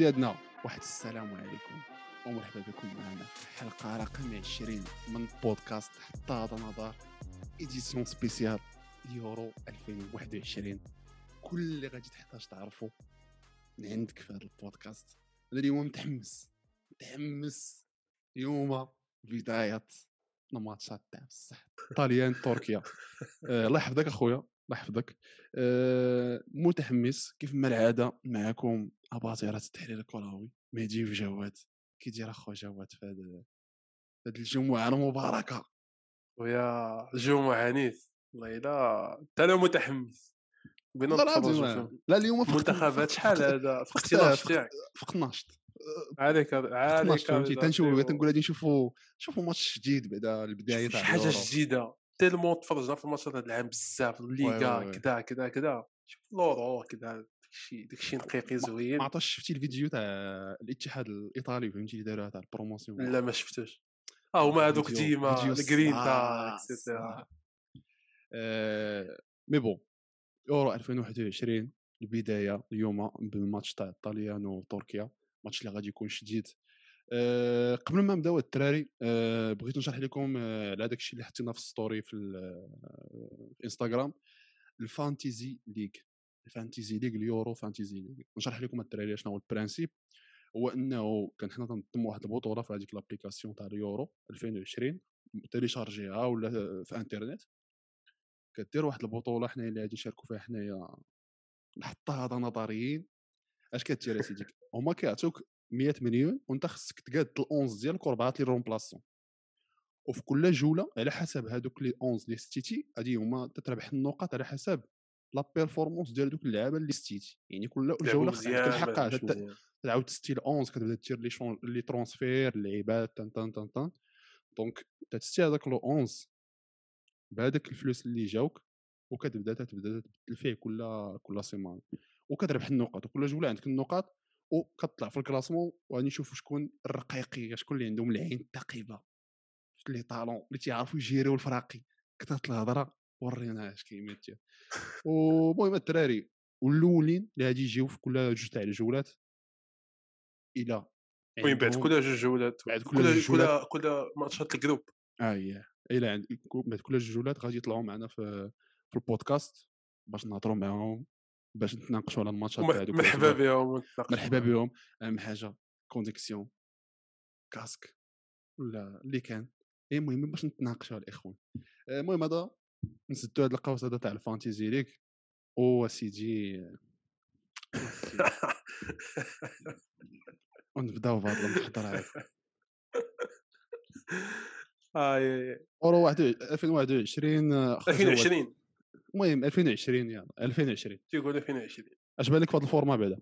سيادنا واحد السلام عليكم ومرحبا بكم معنا في حلقة رقم 20 من بودكاست حتى هذا نظر إديسيون سبيسيال يورو 2021. كل اللي غادي تحتاج تعرفه من عندك في هذا البودكاست. أنا اليوم متحمس اليوم بداية الماتشات تاع بصح طاليان تركيا. الله يحفظك اخويا الله يحفظك. متحمس كيف ما العاده معكم اباطره التحليل الكروي مهدي وجواد. كي داير اخو جواد في هذه الجمعه المباركه؟ ويا الجو عنيف والله. لا انا متحمس بينا والله نتفرجوا العظيم في لا اليوم المنتخبات. شحال هذا في الاختلاف تاعك فقط ناشط عليك فهمتي تنشوف تنقول ديو غادي نشوفوا ماتش جديد بعدا البدايه شوف تاع شي حاجه اليورو. جديده تيلمون تفرجنا في الماتشات هذا العام بزاف وي وي الليغا وي كذا شوف لورو كذا داكشي نقيقي ما زوين. عطاش شفتي الفيديو تاع الاتحاد الايطالي فهمتي اللي داروها تاع البروموسيون؟ لا ما شفتوش. هما هذوك ديما فيديو الجرينتا اكسيتيرا. مي بون يورو 2021 البدايه اليوم بالماتش تاع الطليان وتركيا، ماتش اللي غادي يكون شديد. قبل ما نبداو الدراري بغيت نشرح لكم على داك الشيء اللي حطينا في الستوري في الانستغرام، الفانتيزي ليغ اليورو فانتيزي ليغ. نشرح لكم الدراري شنو هو البرانسيب. هو انه كان حنا تنظم واحد البطوله في هذيك لابليكاسيون تاع اليورو 2020 تيليشارجيها ولا في انترنت. كدير واحد البطوله حنايا اللي غادي نشاركوا فيها حنايا حتى هذا نظريين. اش كدير يا سيدي؟ هما كيعطوك 100 مليون وانت خصك تقاد ال11 ديالك و4 لي رومبلاسون، وفي كل جوله على حسب هذوك لي 11 اللي ستيتي غادي هما تتربح النقاط على حسب لا بيرفورمانس ديال دوك اللعابه اللي ستيتي. يعني كل لعبوا جوله عندك مزيان ما الحق لعبوش مزيان. تعاود تستي ال11 كتبدا دير لي ترونسفير اللعيبات تن تن تن تن. دونك تستي هذاك لو 11 بهذاك الفلوس اللي جاوك وكتبدا تبدل فيه كل سيمان وكتربح النقاط، وكل جوله عندك النقاط وكتطلع في الكلاسمون. وغادي نشوفوا شكون الرقيقي، شكون اللي عندهم العين الثقيبه، شكون اللي طالون اللي تيعرفوا يجيريو الفراقي. كثرت الهضره ورينا اش كيمثل. ومهم الدراري والاولين اللي غادي يجيو في كل جوج تاع الجولات الى المهم بعد عندهم كل جوج جولات بعد كل جوج كل جولات ماتشات الجروب. الى عند بعد كل جوج جولات غادي يطلعوا معنا في البودكاست باش نهضروا معاهم، باش نتناقشوا على الماتشات تاع دوك مرحبا الاسبوع. بهم ونتناقشوا مرحبا بهم. اهم حاجه كونيكسيون كاسك ولا اللي كان. المهم باش نتناقشوا الاخوان. المهم هذا نسدوا هذا القوس هذا تاع الفانتيزي ليغ سيدي ونبداو بهذا المحضر هذا. اورو 2021 اخو جواد. 2020 المهم 2020 يلا 2020 تيقول 2020. اش بالك في هذا الفورما بعدا؟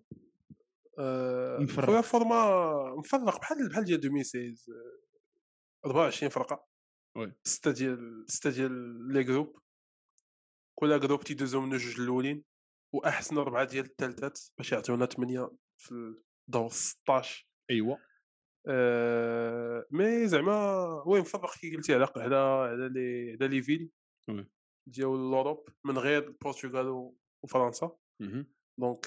خويا مفرق. فورما مفرق بحال ديال 2016. 24 فرقه، وي 6 ديال لي جروب. كل جروب تيدوزو منو جوج الاولين واحسن 4 ديال الثالثات باش يعطيونا 8 في الدور 16. ايوا مي زعما وين مفرق كي قلتي على لي فيل وي ديال لوروب من غير البرتغال وفرنسا. دونك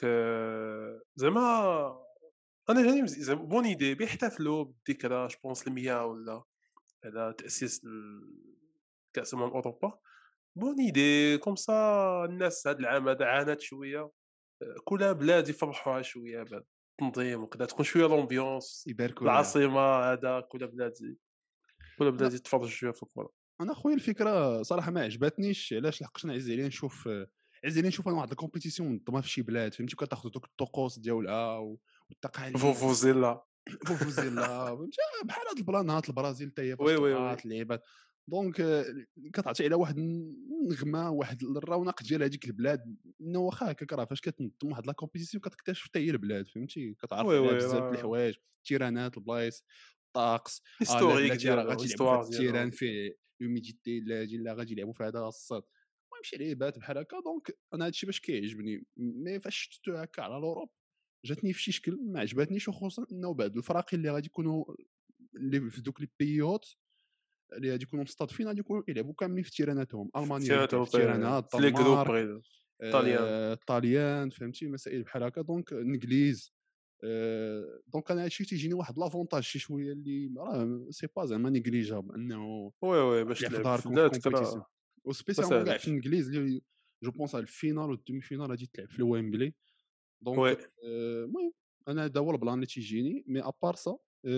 زعما انا جاني زعما بون ايدي بيحتفلوا بالذكرى جو بونس 100 ولا على تاسيس كاس اوروبا. بون ايدي كوم سا الناس هذا العام هذا عانت شويه. كل بلاد يفرحوها شويه بعد التنظيم وكذا تكون شويه لومبيونس يباركوا لها. العاصمه هذا كل بلاد يتفرجوا شويه في الكره. انا خويا الفكره صراحه ما عجبتنيش. علاش؟ لحقاش انا عز عليا نشوف انا واحد الكومبيتيسيون منظمه في شي بلاد فهمتي، كتاخذ دوك الطقوس ديالها والتقاليد فوفوزيلا فوفوزيلا فهمتي بحال هاد البلانات البرازيل حتى هي فاش وي وي طلعات وي اللعيبات. دونك كتعطي على واحد النغمه واحد الرونق ديال هذيك البلاد. انه واخا هكاك راه فاش كتنظم واحد لا كومبيتيسيون كتكتشف حتى هي البلاد فهمتي، كتعرف وي عليها وي بزاف د الحوايج، التيرانات البلايص الطقس. لا هيستوريك بلاتي راه ديالو غادي يلعبوا في هذا هيستوار التيران ديالو. فيه لوميديتي، لا غادي يلعبوا في هذا الصاد. المهم شي لعيبات بحال هكا. دونك انا هادشي باش كيعجبني. مي فاش شفتو هكا على الاوروب جاتني في شي شكل ما عجبتنيش، وخصوصا انه بعد الفراقي اللي غادي يكونوا اللي في دوك لي بيوت اللي غادي يكونوا مستضيفين غادي يكونوا يلعبوا كاملين في تيراناتهم. المانيا غادي تلعب في تيرانات، في لي جروب الدنمارك، طاليان. الطاليان فهمتي مسائل بحال هكا. دونك الانجليز دونك انا هادشي تيجيني واحد لافونتاج شي شويه اللي راه سي با زعما نيغليجابل انه وي، وي، باش تلعب في تلعب في داركم في بلادك كومبيتيسيون راه ما وسبيسيالمون كاع في ساهلاش. الانجليز اللي جو بونس على الفينال والدومي فينال غادي تلعب في الويمبلي دونك وي، المهم انا هذا هو البلان اللي تيجيني مي ابار سا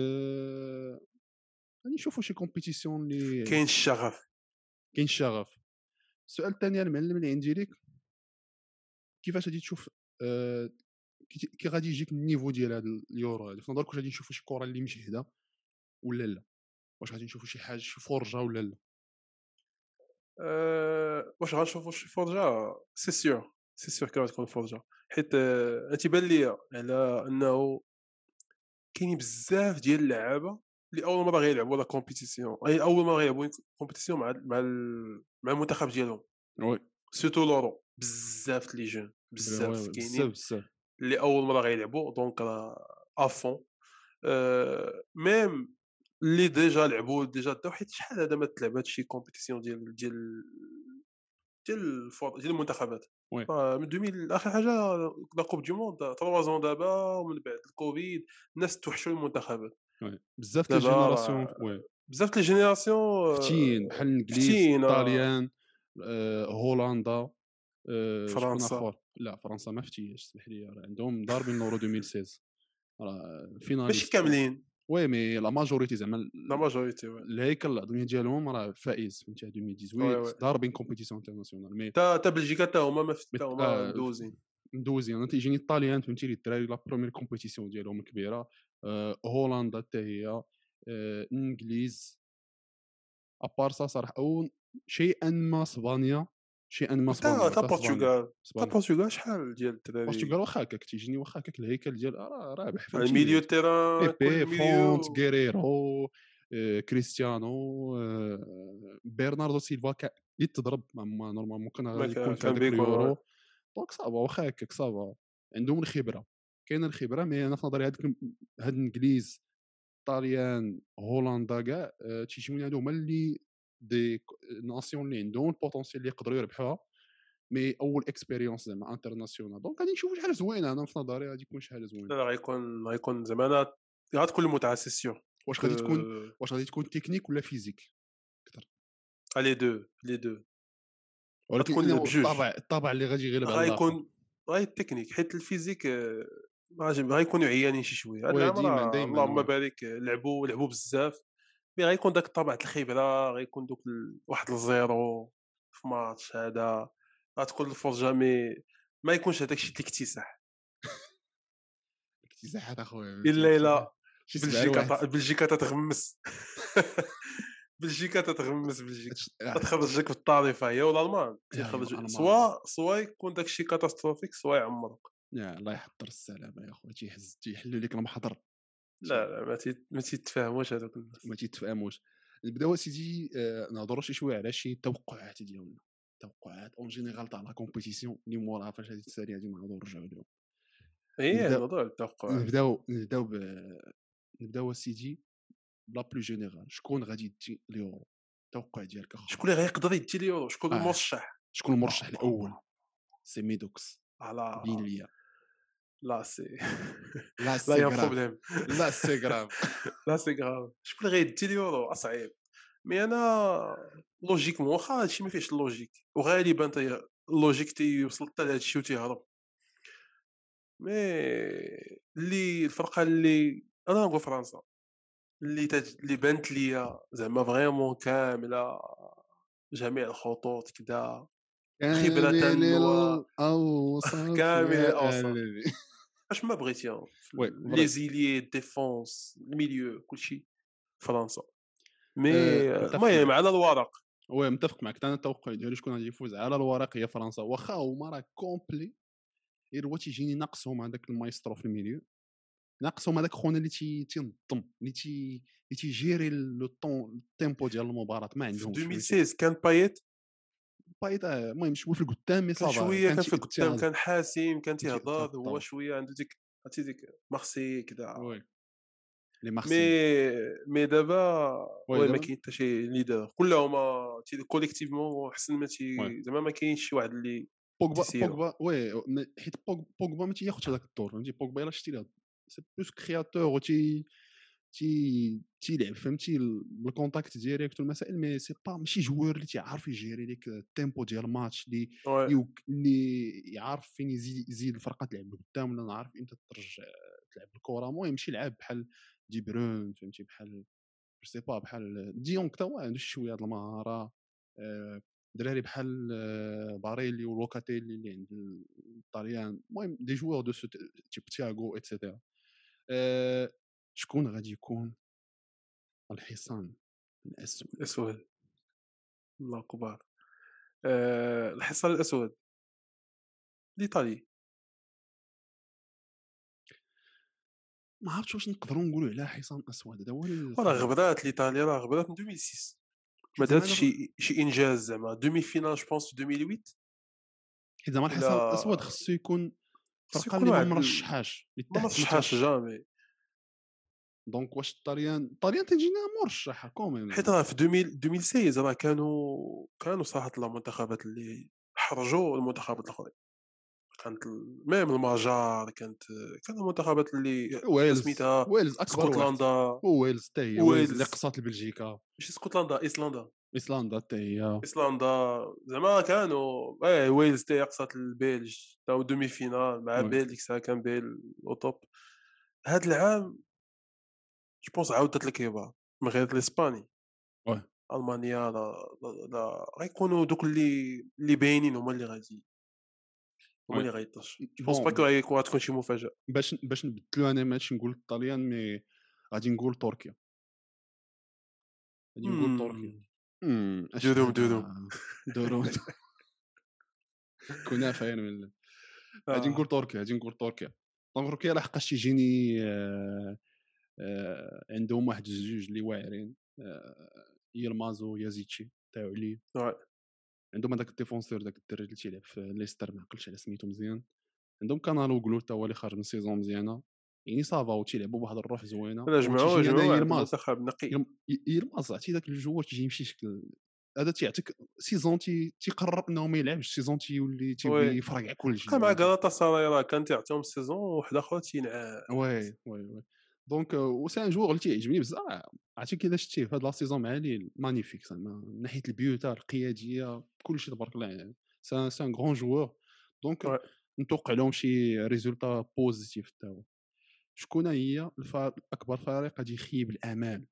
غادي نشوفوا شي كومبيتيسيون اللي كاين الشغف. كاين الشغف. السؤال الثاني المعلم اللي عندي ليك كيفاش غادي تشوف آه، كي غادي يجيك النيفو ديال هاد اليورو هادي في نظرك واش غادي نشوفوا شي كره اللي مجهده ولا لا واش غادي نشوفوا شي حاجه شي فرجه ولا لا واش غنشوفوا شي فرجة؟ سي سيور، سي سيور كان غتكون فرجة، حيت تيبان ليا على أنه كاينين بزاف ديال اللعابة اللي أول مرة غيلعبوا لا كومبيتيسيون، أي أول مرة غيلعبوا كومبيتيسيون مع المنتخب ديالهم، وي سيرتو لورو، بزاف لي جون، وي بزاف بزاف كاينين بزاف اللي أول مرة غيلعبوا دونك راه أفون. ميم اللي ديجا لعبوا ديجا داو، حيت شحال هذا ما تلعب هاد شي كومبيتيسيون ديال المنتخبات. وي من 2000 آخر حاجة لا كوب دو موند 3 زون دابا، ومن بعد الكوفيد الناس توحشوا المنتخبات. وي بزاف ديال دابا الجينيراسيون راه وي بزاف د الجينيراسيون فتيين بحال الانجليز فتيين. الطاليان هولندا شكون فرنسا اخر لا فرنسا ما فتياش اسمح لي راه عندهم ضاربين لورو 2016 راه ماشي فيناليست كاملين، وي مي لا ماجوريتي زعما لا ماجوريتي وي. الهيكل العظمي ديالهم راه فائز فهمتي وي، 2018 وي. ضاربين كومبيتيسيون انترناسيونال مي تا بلجيكا تا هما مي تا هما مدوزين. ندوزي انا تيجيني الطاليان فهمتي لي الدراري لا بروميير كومبيتيسيون ديالهم كبيره هولندا حتى هي الانجليز ابار سا صراحه او شيئا ما اسبانيا شيئا ما اسبانيا تا حتى اسبانيا البرتغال، تا اسبانيا البرتغال شحال ديال الدراري. البرتغال واخا هكاك تيجيني واخا هكاك الهيكل ديال رابح الميليو فهمتي تيران كل بيبي فونت ميليو. غيريرو كريستيانو برناردو سيلفا يتضرب نورمالمون كان ما غادي يكون في كان هذاك بيكون. اليورو دونك صافا واخا هكاك صافا عندهم الخبره كاينه الخبره مي انا في نظري هاد الانجليز طاليان هولندا كاع تيجيوني هادو هما اللي دي ناسيون اللي عندهم البوتونسيال اللي يقدروا يربحوها مي اول اكسبيريونس زعما انترناسيونال دونك غادي نشوفوا شي حاجه زوينه انا في نظري غادي يكون شي حاجه زوينه لا، لا، غيكون زعما غتكون المتعة سي سيور. واش ك غادي تكون واش غادي تكون تكنيك ولا فيزيك اكثر لي دو، لي دو، ولكن غتكون إنه بجوج. الطابع اللي غادي يغلب على الاخر غيكون غير التكنيك، حيت الفيزيك غيكونوا عيانين شي شويه. هاد وي العام ديما راه دايما اللهم وي بارك لعبوا بزاف، مي غيكون داك الطابع د الخبره، غيكون دوك واحد الزيرو في ماتش هذا، غتكون الفرجه ما يكونش هذاك الشيء الاكتساح. اكتساحات اخويا فهمتي الا شي سبع بلجيكا الواحد بلجيكا تتغمس. بلجيكا تتغمس، بلجيكا هادشي تخرجك في الطريفه، هي والالمان يا ايوا تيخرج، المان سوا يكون داك الشيء كاتاستروفيك، سوا يعمرك. يا الله يحضر السلامه يا خويا تيحلوا لك المحضر لا، لا، ما تيتفاهموش هذوك الناس. ما تيتفاهموش نبداو اسيدي نهضروا شي شويه على شي توقعات ديالنا توقعات اون جينيرال تاع لا كومبيتيسيون اللي موراها فاش غادي تسالي غادي نعاودو نرجعوا لهم هي نبداو موضوع التوقعات. نبداو اسيدي بلا بلو جينيرال شكون غادي تجي اليورو التوقع ديالك اخويا شكون اللي غيقدر يدي اليورو؟ شكون اه المرشح؟ شكون با المرشح با الاول با سي ميدوكس على بين ليا لا سي. لا لا سي يا غراف بروبليم. لا سي غراف لا سي غراف. شكون اللي غيدي اليورو؟ اصعيب. مي انا لوجيكمون واخا هادشي ما فيهش اللوجيك، وغالبا اللوجيك تيوصل حتى لهاد الشيء وتيهرب. مي الفرقه اللي انا نقول فرنسا، اللي بانت ليا زعما فريمون كامله، جميع الخطوط كدا، خبرة كامل و الاوصاف كامل يا الأوصاف. الذي اش ما بغيتي وي لي فري زيليي ديفونس الميليو كلشي فرنسا. مي متفق المهم معك على الورق. وي متفق معك انا التوقع ديالي شكون غادي يفوز على الورق هي فرنسا واخا هما راه كومبلي غير هو تيجيني ناقصهم هذاك المايسترو في الميليو ناقصهم هذاك خونا اللي تينظم اللي تيجيري لو طون التيمبو ديال المباراه ما في عندهمش فهمتي 2016 كان بايت، بايت المهم شويه في القدام مي كان صافا شويه كان كان في القدام، تيأثر كان حاسم، كان كان تيأثر تيهضر في هو الدور شويه عنده ديك، عرفتي ديك مارسي كدا. وي لي مي مارسيي دابا وي وي ما دابا كاين حتى شي ليدر، كلهما كوليكتيفمون حسن ما وي زعما ما كاينش شي واحد اللي بوجبا تيسيرو. وي حيت بوجبا ما تياخذش هذاك الدور فهمتي بوجبا الا شتي له سي بلوس كرياتور و تيلعب فهمتي بالكونتاكت ديريكت والمسائل، مي سي با ماشي جوار اللي تيعرف يجيري ليك التيمبو ديال الماتش Ouais. اللي يعرف فين يزيد الفرقه تلعب لقدام، ولا عارف امتى ترجع تلعب الكره. المهم شي لعاب بحال دي برون فهمتي، بحال جو سي با بحال ديونغ تا هو عنده شويه د المهاره. دراري بحال باريلي ولوكاتيلي اللي عند الطاليان، المهم دي جوار دو سو تيب تياغو ايتترا. شكون غادي يكون الحصان الاسود؟ أسود. الله أكبر. الحصان الأسود. الإيطالي. ما عرفتش واش نقدروا نقولوا عليها حصان اسود، هذا هو وراه القضيه. غبرات الإيطاليا، راه غبرات من 2006. ما زعما دارتش دابا شي إنجاز زعما دومي فينال جو بونس في 2008. حيت زعما الحصان ولا الاسود خصو يكون خصو فرقه يكون اللي ما واحد مرشحاش اللي ما تحت ما مرشحاش ترشح. جامي. دونك واش الطاليان تجينا مرشحه كوميم حيت زعما. راه في 2016 راه كانوا صراحة المنتخبات اللي حرجوا المنتخبات الآخرين. كانت ميم المجر كانوا المنتخبات اللي سميتها ويلز اكبر واحد. اسكتلندا. ويلز حتى هي، ويلز اللي ويلز قصات لبلجيكا. ماشي اسكتلندا، ايسلندا. ايسلندا حتى هي. ايسلندا زعما كانوا ويلز تا هي قصات البلج تاو دومي فينال مع وي بيل، ديك الساعه كان بيل او توب. هاد العام جو بونس عاودت الكيبا من غير الاسباني. وي المانيا لا غيكونوا دوك اللي باينين هما وي اللي غيطيش. جو بونس با بون غتكون شي مفاجاه. باش نبدلو، انا ماشي نقول الطليان مي غادي نقول تركيا. غادي نقول تركيا. مم. اش دودوم دودوم. هذا دورون كنافه من غادي نقول اه تركيا. غادي نقول تركيا. تركيا لحقاش تيجيني عندهم واحد الجوج اللي واعرين، يلماز ويازيتشي تاعو علي. ouais. عندهم هذاك الديفونسور، داك الدري اللي تيلعب في ليستر، ما عقلتش على سميتو مزيان. عندهم كانالوغلو تا هو اللي خارج من سيزون مزيانه، يعني صافا وتيلعبوا بواحد الروح زوينه. لا وتيجيني انا جمعوا واحد يلماز. المنتخب نقي. يلماز عرفتي داك الجوار تيجي يمشي شكل هذا، تيعطيك سيزون تيقرر انه ما يلعبش، سيزون تيولي وي يفرقع كلشي بقى مع زعما غالاتا سراي راه كان تيعطيهم السيزون وواحد اخر وي. دونك وسي ان جوور اللي تيعجبني بزاف. عرفتي كي شتيه في هاد لا سيزون مع ليل مانيفيك زعما من ناحيه البيوتا القياديه كلشي تبارك الله يعني. سي ان غران جوور. دونك ouais. نتوقع لهم شي ريزولتا بوزيتيف حتى هو. شكون هي اكبر فريق غادي يخيب الامال؟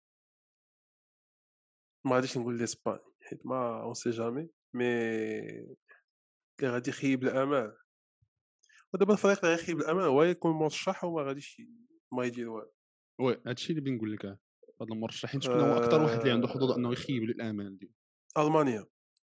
ما غاديش نقول لاسباني حيت ما اون سي جامي، مي اللي غادي يخيب الامال. ودابا الفريق اللي غيخيب الامال هو يكون مرشح وما غاديش ما يدير والو. وي هادشي اللي بغيت نقول لك. هاد المرشحين شكون هو اكثر واحد اللي عنده حظوظ انه آه... يخيب الامال ديالو؟ المانيا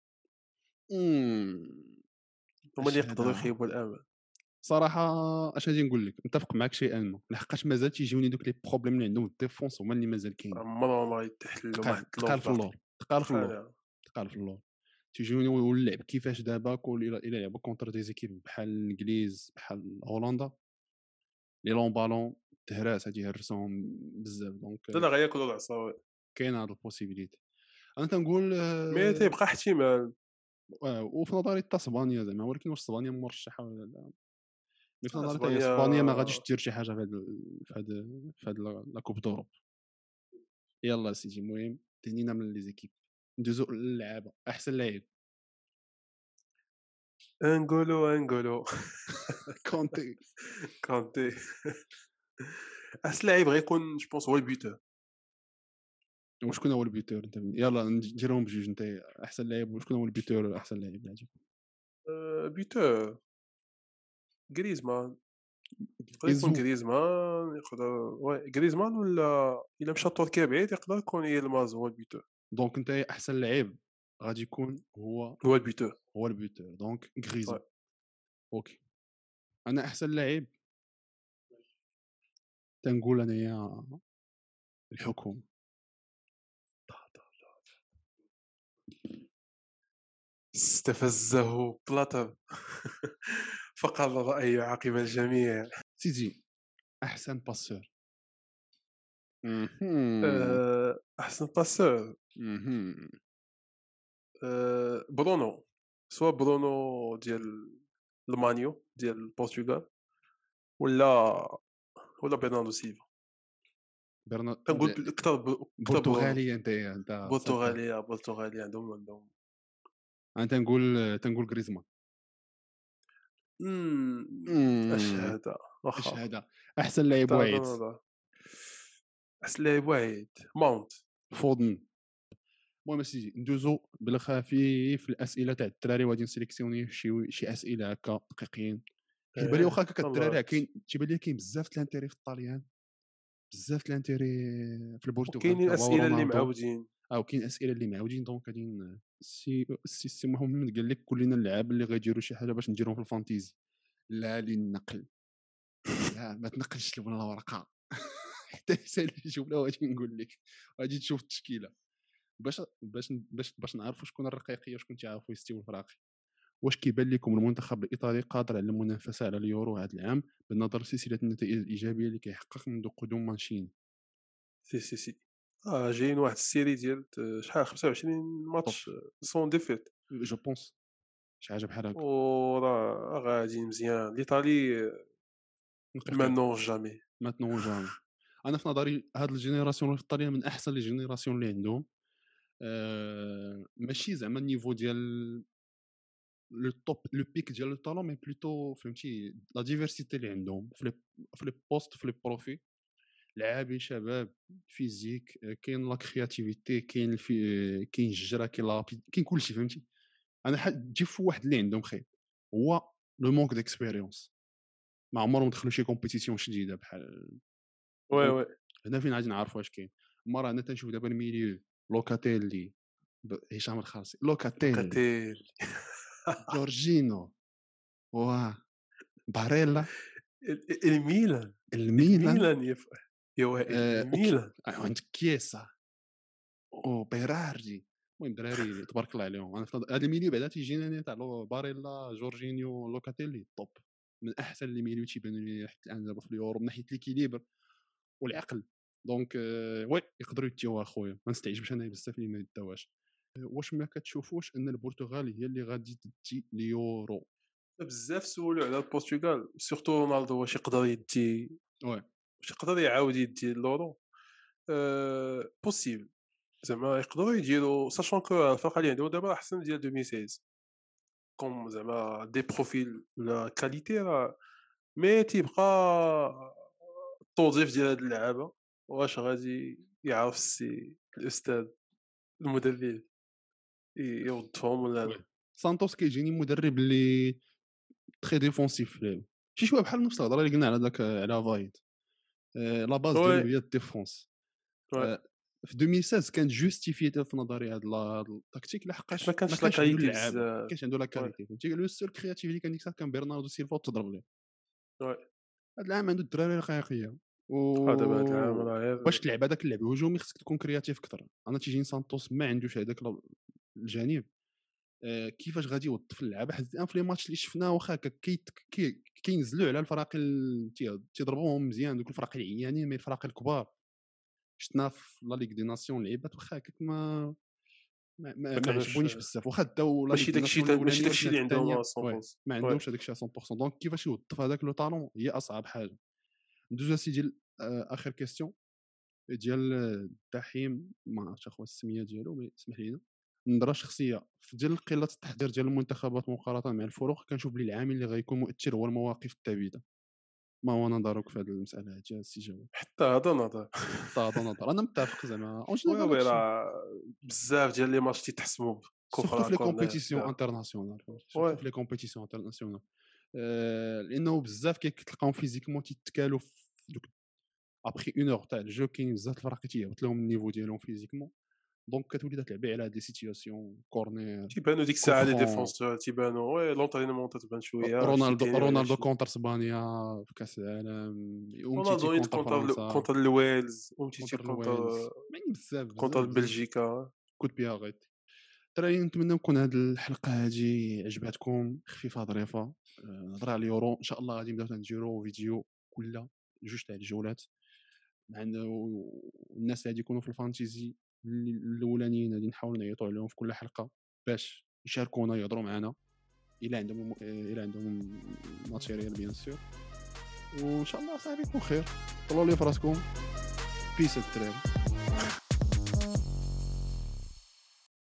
امم هما اللي اش يقدروا هذا يخيبوا الامال. صراحه. اش غادي نقول لك، نتفق معك شيئا ما، لحقاش مازال تيجيوني دوك لي بروبليم اللي عندهم الديفونس هما اللي مازال كاينين. عمرهم ما يتحلوا، ما حلوش تقال في باقي. اللور. تقال في اللور. بحال تقال في اللور. تيجيوني واللعب كيفاش دابا كل الى لعبوا كونتر دي زيكيب بحال الانجليز بحال هولندا، لي لون بالون تهراس غادي يهرسوهم بزاف. لا دونك غياكلوا العصا. كاين هاد البوسيبيليتي. انا تنقول مي تيبقى احتمال. وفي نظري حتى اسبانيا زعما، ولكن واش اسبانيا مرشحه ولا لا؟ مي في نظري حتى هي اسبانيا اسبانيا ما غاديش دير شي حاجه في هاد لا كوب دوروب. يلا سيدي، المهم تهنينا من لي زيكيب. ندوزو للعابه. احسن لاعب انغولو كونتي. كانتي. احسن لاعب غيكون جو بونس هو البيتر. وشكون هو البيتور انت؟ يلا نديرهم بجوج. انت احسن لاعب، وشكون هو البيتور احسن لاعب اللي عجبك؟ بيتر غريزمان. يقدر يكون يزو. غريزمان، يقدر وي غريزمان، ولا الا مشى تركيا بعيد يقدر يكون يلماز هو البيتر. دونك انت احسن لاعب غادي يكون هو هو البيتر. البيتور، دونك غريزو. وي. اوكي. انا احسن لاعب تنقول انايا الحكومه. استفزه بلاتر فقال الرأي عقب الجميع. سيدي احسن باسور. مهم. احسن باسور مهم. برونو. سوا برونو ديال المانيو ديال البرتغال، ولا ولا برناردو سيلفا. برنا كنقول أكثر أكثر برونو. برتغالي انت صافي. برتغالية عندهم. انا تنقول غريزمان. اش امم هذا اش واخا. هذا احسن لاعب هذا واعد. نظر أحسن لاعب واعد ماونت. فودن. المهم اسيدي ندوزو بالخفيف في الاسئله تاع الدراري، وغادي نسيليكسيوني شي اسئله هكا دقيقين. كيبان لي واخا هكا الله الدراري كاين، تيبان لي كاين بزاف د الانتيري في الطاليان، بزاف د الانتيري في البرتغال وكاينين كباو أسئلة اللي رونالدو. معاودين. كاين اسئله اللي معاودين، دونك غادي السي محمد قال لك كلنا اللعاب اللي غيديروا شي حاجه باش نديرهم في الفانتيزي. لا للنقل، لا ما تنقلش لنا الورقه حتى يسالي الجمله وغادي نقول لك، غادي تشوف التشكيله باش نعرفوا شكون الرقيقيه وشكون تيعرفوا يستوي الفراقي. واش كيبان لكم المنتخب الايطالي قادر على المنافسه على اليورو هذا العام بالنظر لسلسله النتائج الايجابيه اللي كيحقق منذ قدوم مانشيني؟ سي جايين واحد السيري ديال شحال 25 طوب ماتش سون ديفيت. جو بونس شي حاجه بحال هكا. وراه غادي مزيان ليطالي نقيقين مانون جامي. ماتنو جامي. انا في نظري هاد الجينيراسيون الايطاليه من احسن لي جينيراسيون اللي عندهم. ماشي زعما النيفو ديال لو توب لو بيك ديال لو طالون، مي بلوتو فهمتي لا ديفيرسيتي اللي عندهم في لي بوست في لي بروفي. لعابي شباب فيزيك، كاين لا كرياتيفيتي، كاين كاين الجرا، كاين كاين كلشي فهمتي. انا تجي في واحد اللي عندهم خير هو لو مونك ديكسبيريونس، ما عمرهم دخلوا شي كومبيتيسيون شديده بحال. وي دونك وي هنا فين غادي نعرف واش كاين. مرة انا تنشوف دابا الميليو لوكاتيلي، هشام الخالصي، لوكاتيلي، لوكاتيل. جورجينو، و باريلا، الميلان. الميلان، الميلان يا وائل الميلان. عندك كيسا وبيرارجي. المهم دراري تبارك الله عليهم. انا هذا الميليو بعدا تيجينا أنا تاع باريلا، جورجينيو، لوكاتيلي توب، من احسن لي ميليو تيبانوا لي حتى الان دابا في اليورو من ناحيه ليكيليبر والعقل. دونك وي يقدروا يتيو اخويا، ما نستعجبش انا بزاف اللي ما يداوش. واش ما كتشوفوش ان البرتغال هي اللي غادي تدي اليورو؟ بزاف سولوا على البرتغال سورتو رونالدو واش يقدر يدي، وي واش يقدر يعاود يدي اللورو. بوسيبل زعما يقدروا يديروا ساشون كو الفرقه اللي عندهم دابا احسن ديال 2016 كوم زعما دي بروفيل ولا كاليتي راه. مي تيبقى التوظيف ديال هاد اللعابه واش غادي يعرف السي الاستاذ المدرب يوظفهم ولا وي لا. سانتوس كيجيني مدرب اللي تري ديفونسيف في لعبه، شي شويه بحال نفس الهضره اللي قلنا على داك على فايد. لا باز وي ديالو هي الديفونس. وي في 2016 كانت جوستيفي في نظري هذا التكتيك حيت ما لحقاش ما كانش لا كانش عنده كاليتي اللعابه، ما بزاف. كانش عنده لا وي كاليتي فهمتي. لو سول كرياتيف اللي كان ديك الساعه كان برناردو سيلفا وتضرب ليه. وي هذا العام عنده الدراري الحقيقيه دابا هاد العام راه باش غير. تلعب هذاك اللعب الهجومي خصك تكون كرياتيف اكثر. انا تيجيني سانتوس ما عندوش هذاك الجانب. كيفاش غادي يوظف اللعابه حيت الان في لي ماتش اللي شفناه واخا كينزلوا على الفرق تيضربوهم مزيان دوك الفرق العيانين، مي الفرق الكبار شفنا في لا ليغ دي ناسيون لعيبات واخا هكاك ما ما كانوش عجبونيش بزاف، واخا داو لا ليغ ماشي دي داكشي ناسيون ماشي الاولانيه داكشي ولكن اللي هاد عندهم الثانيه 100%. ما وي عندهمش هذاك الشيء 100%. دونك كيفاش يوظف هذاك لو طالون هي اصعب حاجه. ندوز اسيدي اخر كيستيون ديال الدحيم، ما عرفتش اخويا السميه ديالو مي اسمح لينا. نظره شخصيه في ديال قله التحضير ديال المنتخبات مقارنه مع الفرق، كنشوف بلي العامل اللي غيكون مؤثر هو المواقف الثابته. ما هو نظرك في هذه المساله هذه السي جواد؟ حتى هذا نظر. حتى هذا نظر انا متفق زعما اون وي جينيرال وي هادشي، راه بزاف ديال لي ماتش تيتحسموا سورتو بكفره في لي كورنر كومبيتيسيون بدا. انترناسيونال وي سورتو في لي كومبيتيسيون انترناسيونال. لانه بزاف كتلقاهم فيزيكمون تيتكالوا في دوك ابخي اون اور تاع الجو. كاين بزاف الفرق تيهبط لهم النيفو ديالهم فيزيكمون، دونك كتولي تلعبي على دي سيتياسيون كورنير، تيبانوا ديك الساعه لي كوفرون. ديفونسور تيبانوا وي لونطرينمون تتبان شويه شتي رونالدو كاينين ولا شي. كونتر اسبانيا في كاس العالم، رونالدو ومتيتي نيت كونتر فرنسا، كونتر الويلز ومتيتي كونتر كونتر الويلز، يعني بزاف كونتر بزاف بزاف. بلجيكا. كود بيا غيت. ترى نتمنى نكون هذه الحلقه هذه عجباتكم، خفيفه ظريفه. نهضر على اليورو ان شاء الله غادي نبداو نديرو فيديو كل جوج تاع الجولات مع الناس اللي غادي يكونوا في الفانتيزي الاولانيين غادي نحاول نعيطوا عليهم في كل حلقه باش يشاركونا يهضروا معنا الى عندهم ماتيريال بيان سور. وان شاء الله صاحبي يكون خير. طلعوا لي في راسكم. بيس الدراري.